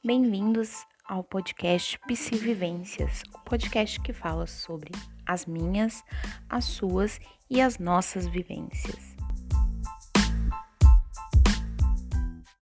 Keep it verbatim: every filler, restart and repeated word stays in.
Bem-vindos ao podcast Psivivências, o podcast que fala sobre as minhas, as suas e as nossas vivências.